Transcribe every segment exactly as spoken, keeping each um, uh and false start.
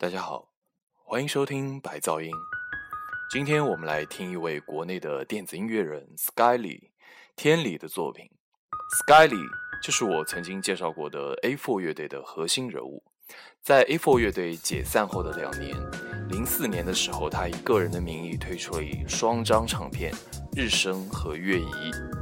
大家好，欢迎收听白噪音。今天我们来听一位国内的电子音乐人 Skyly 天理的作品。 Skyly 就是我曾经介绍过的 A 四 乐队的核心人物。在 A 四 乐队解散后的两年，零四年的时候，他以个人的名义推出了一双张唱片《日升》和《月移》。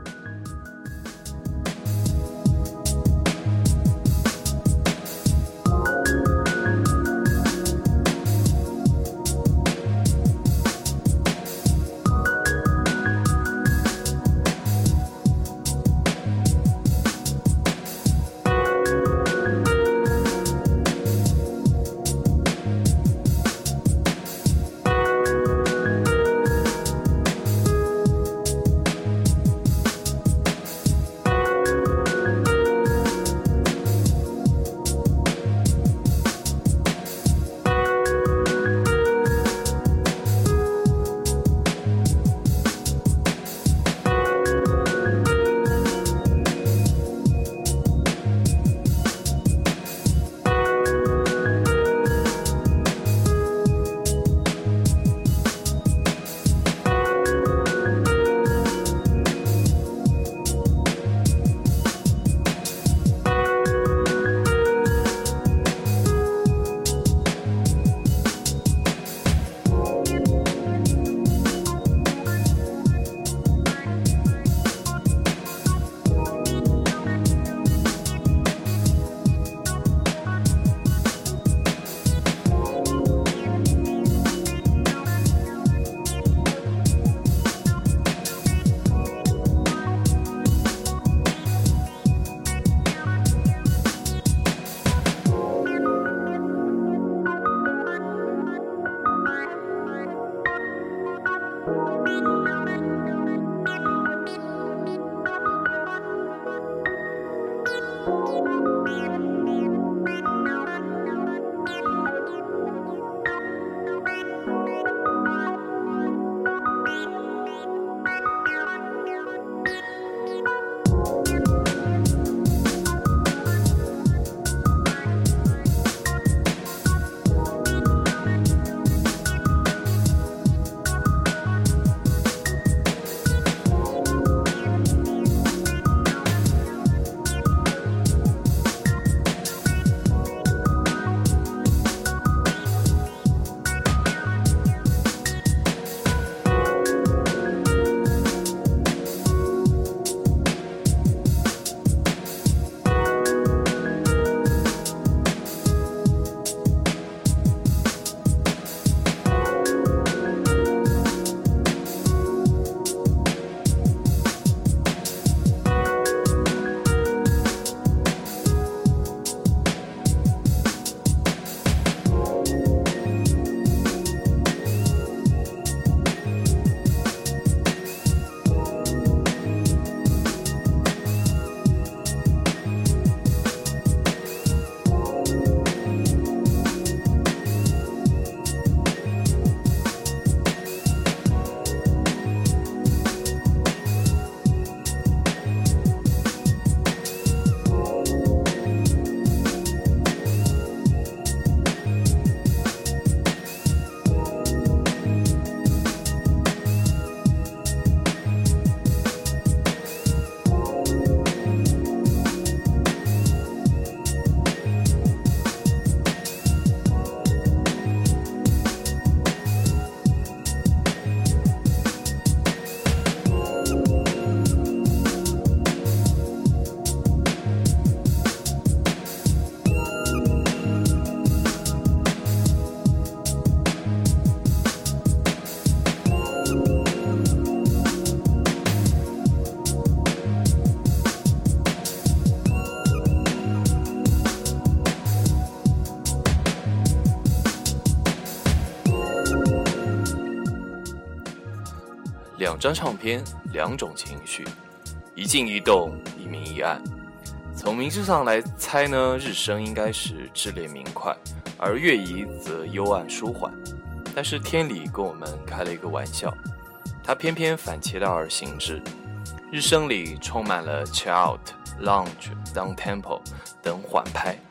两张唱片，两种情绪，一静一动，一明一暗。从名字上来猜呢，日升应该是炽烈明快，而月移则幽暗舒缓。但是天理跟我们开了一个玩笑，他偏偏反其道而行之。日升里充满了 chill out、lounge、down tempo 等缓拍，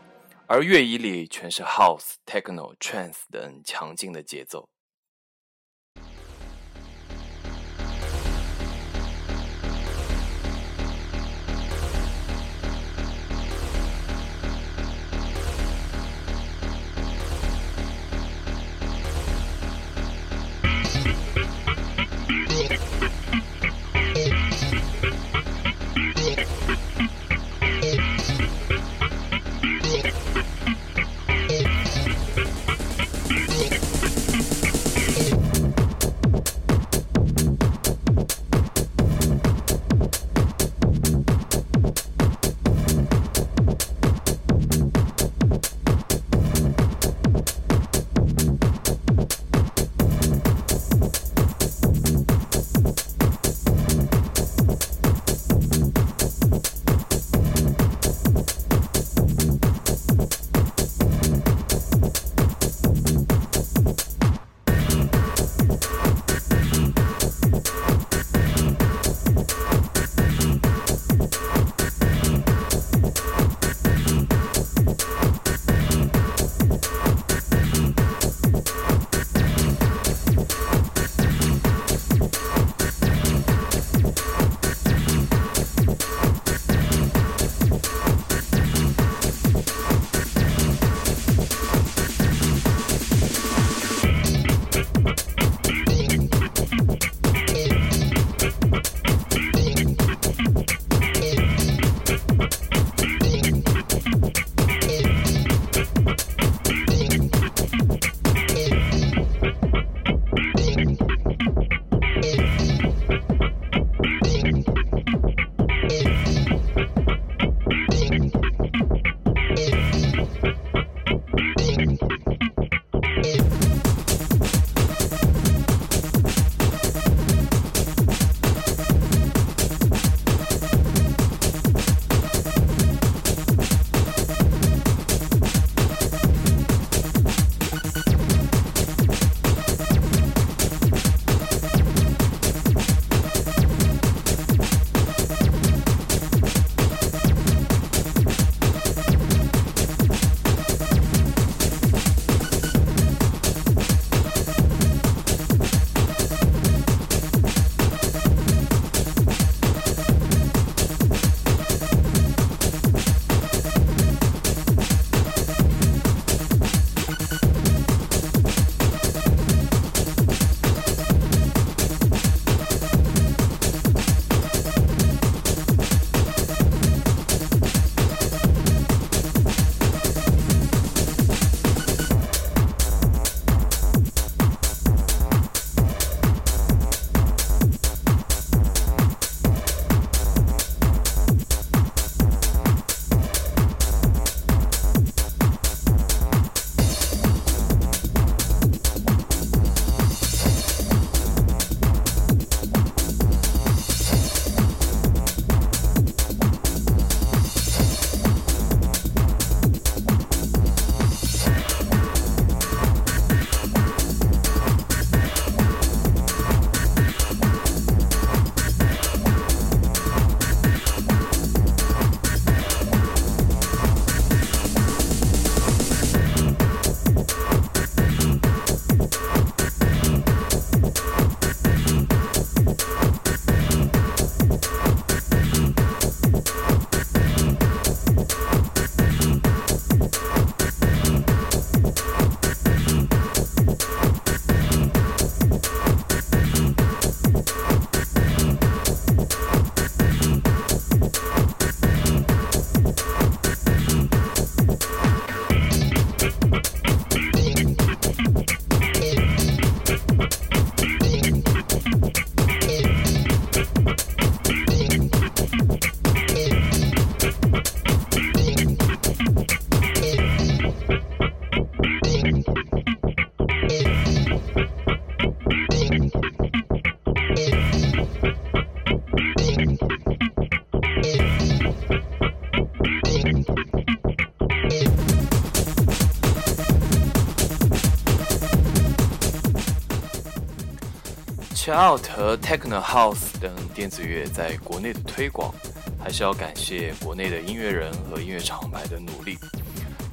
而乐仪里全是 House、Techno、Trance 等强劲的节奏。Chill Out 和 Techno House 等电子乐在国内的推广，还是要感谢国内的音乐人和音乐厂牌的努力。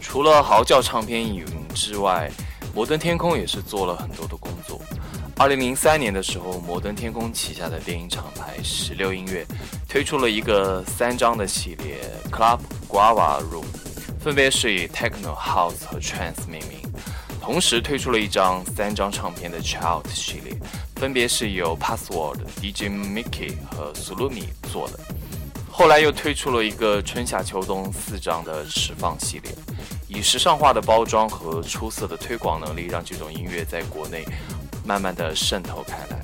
除了嚎叫唱片影之外，摩登天空也是做了很多的工作。二零零三年的时候，摩登天空旗下的电影厂牌十六音乐推出了一个三张的系列 Club Guava Room， 分别是以 Techno House 和 Trance 命名，同时推出了一张三张唱片的 Child 系列，分别是由 Password、D J Mickey 和 Sulumi 做的。后来又推出了一个春夏秋冬四张的释放系列，以时尚化的包装和出色的推广能力，让这种音乐在国内慢慢的渗透开来。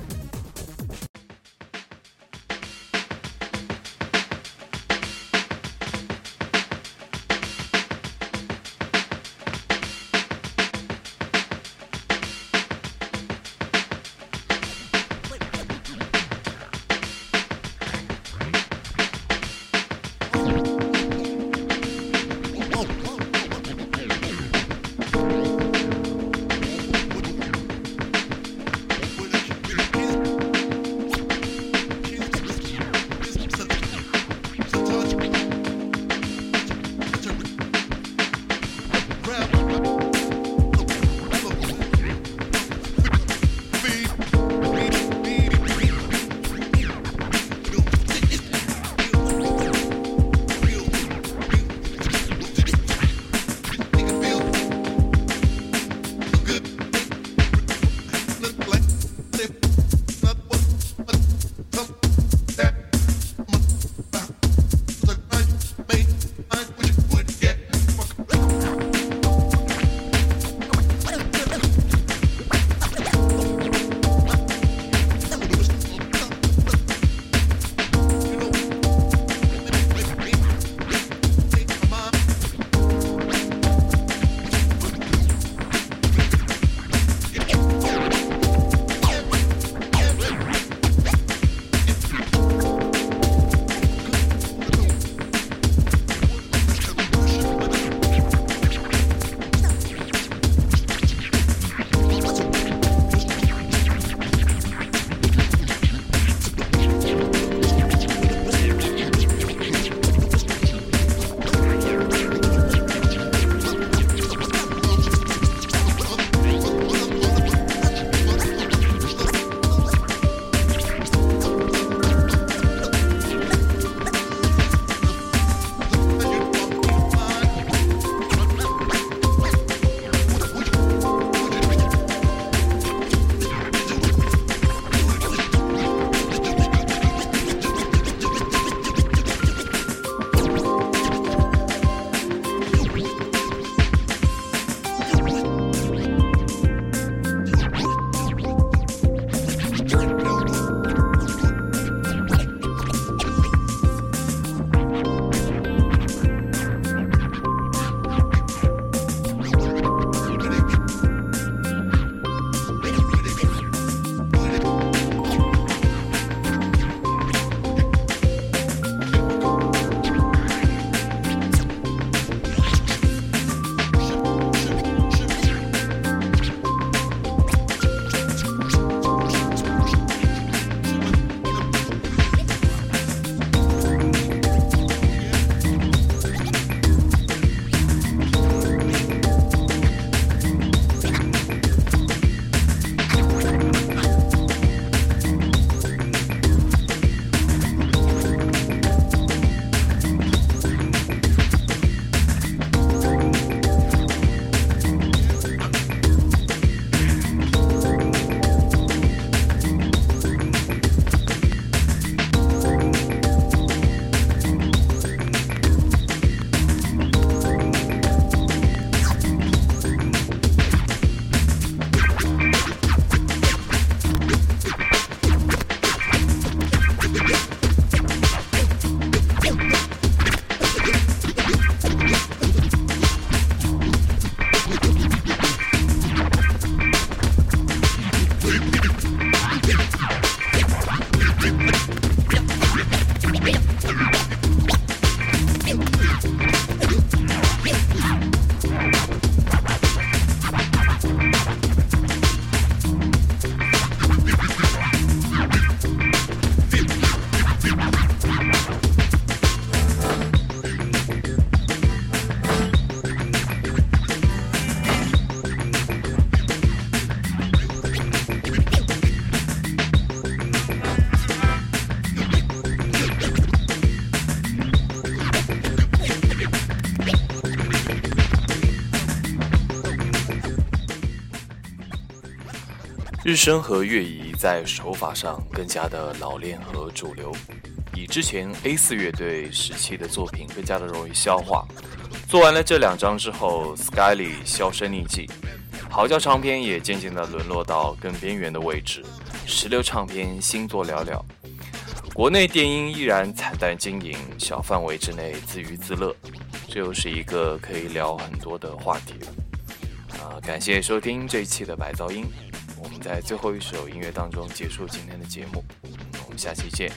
日升和乐仪在手法上更加的老练和主流，比之前 A 四 乐队时期的作品更加的容易消化。做完了这两张之后 Skyly 销声匿迹，嚎叫唱片也渐渐的沦落到更边缘的位置，石榴唱片新作寥寥。国内电音依然惨淡经营，小范围之内自娱自乐，这又是一个可以聊很多的话题了。啊，感谢收听这一期的白噪音，我们在最后一首音乐当中结束今天的节目，我们下期见。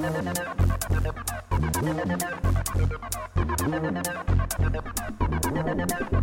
Thank you.